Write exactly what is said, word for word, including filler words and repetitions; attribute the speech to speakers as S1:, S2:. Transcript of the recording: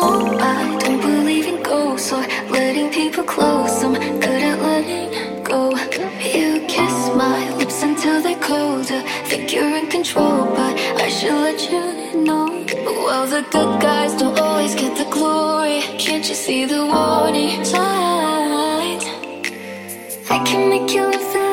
S1: No, I don't believe in ghosts or letting people close. I'm good at letting go. You kiss my lips until they're colder. Think you're in control, but I should let you know. Well, the good guys don't always get the glory. Can't you see the warning signs? I can make you live